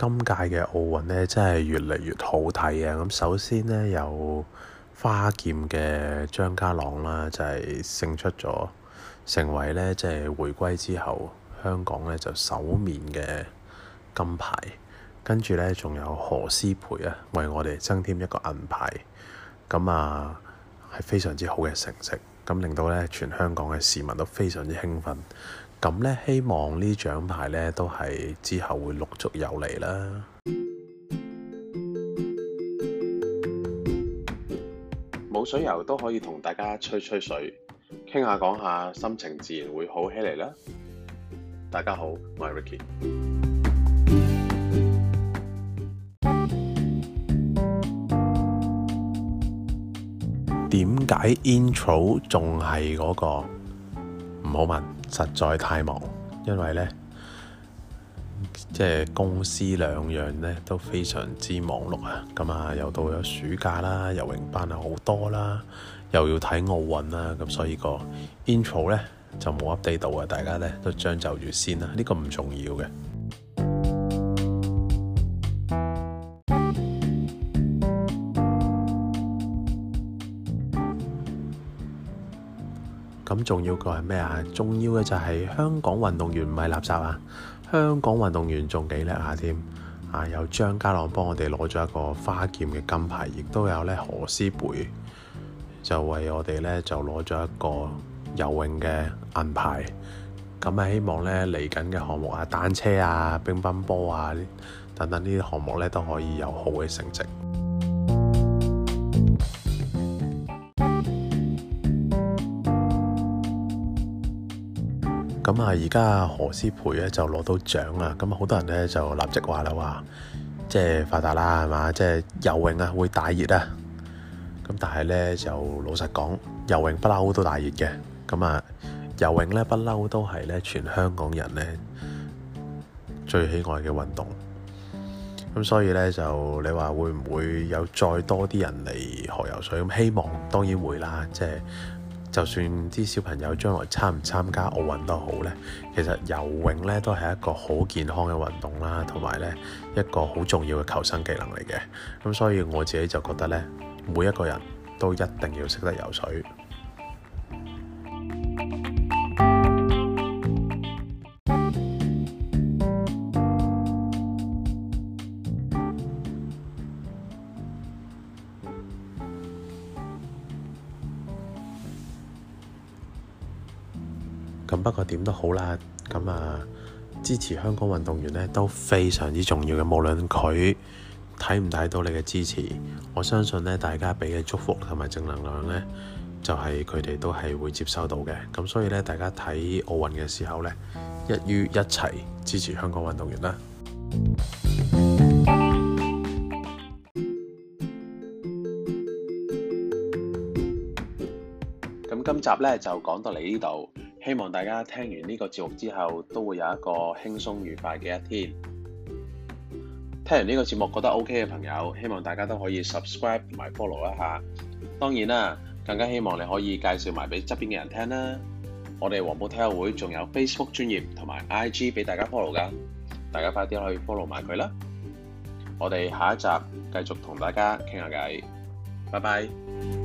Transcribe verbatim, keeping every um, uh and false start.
今屆嘅奧運咧，真係越嚟越好睇啊！咁首先咧，有花劍嘅張家朗啦，就係勝出咗，成為咧即係回歸之後香港咧就首面嘅金牌。跟住咧，仲有何詩蓓啊，為我哋增添一個銀牌。咁啊，係非常之好嘅成績，咁令到咧全香港嘅市民都非常之興奮。咁咧，希望呢獎牌咧都係之後會陸續有嚟啦。 冇水游都可以同大家吹吹水，傾下講下，心情自然會好起嚟啦。大家好，我係 Ricky。 點解 intro 仲係嗰個？唔好問，實在太忙，因為呢，即係公司兩樣呢都非常之忙碌啊！咁啊，又到咗暑假啦，游泳班啊好多啦，又要睇奧運啦，咁所以個 intro 呢就冇 update 到啊！大家呢都將就住先啦，呢個唔重要嘅。咁重要個係咩啊？重要嘅就係香港運動員唔係垃圾啊！香港運動員仲幾叻下添啊！有張家朗幫我哋攞咗一個花劍嘅金牌，亦都有咧何詩蓓就為我哋咧就攞咗一個游泳嘅銀牌。咁啊，希望咧嚟緊嘅項目啊，單車啊、乒乓波啊等等呢啲項目咧都可以有好嘅成績。咁啊，而家何詩蓓咧就攞到獎啊！咁好多人咧就立即話啦，話即係發達啦，係嘛？即係游泳啊會大熱啊！咁但係咧就老實講，游泳不嬲都大熱嘅。咁啊，游泳咧不嬲都係咧全香港人咧最喜愛嘅運動。咁所以咧就你話會唔會有再多啲人嚟學游水？咁希望當然會啦，即係。就算啲小朋友將來參唔參加奧運都好咧，其實游泳咧都係一個好健康嘅運動啦，同埋咧一個好重要嘅求生技能嚟嘅。咁所以我自己就覺得咧，每一個人都一定要識得游水。咁不過點都好啦，咁啊支持香港運動員咧都非常之重要嘅。無論佢睇唔睇到你嘅支持，我相信咧大家俾嘅祝福同埋正能量咧，就係佢哋都係會接收到嘅。咁所以咧，大家睇奧運嘅時候咧，一於一齊支持香港運動員啦。 咁今集咧就講到嚟呢度。希望大家聽完呢個節目之後，都會有一個輕鬆愉快嘅一天。聽完呢個節目覺得 OK 嘅朋友，希望大家都可以 subscribe 同埋 follow 一下。當然啦，更加希望你可以介紹埋俾側邊嘅人聽啦。我哋黃埔體育會仲有 Facebook 專頁同埋 I G 俾大家 follow 噶，大家快啲去 follow 埋佢啦。我哋下一集繼續同大家傾下偈，拜拜。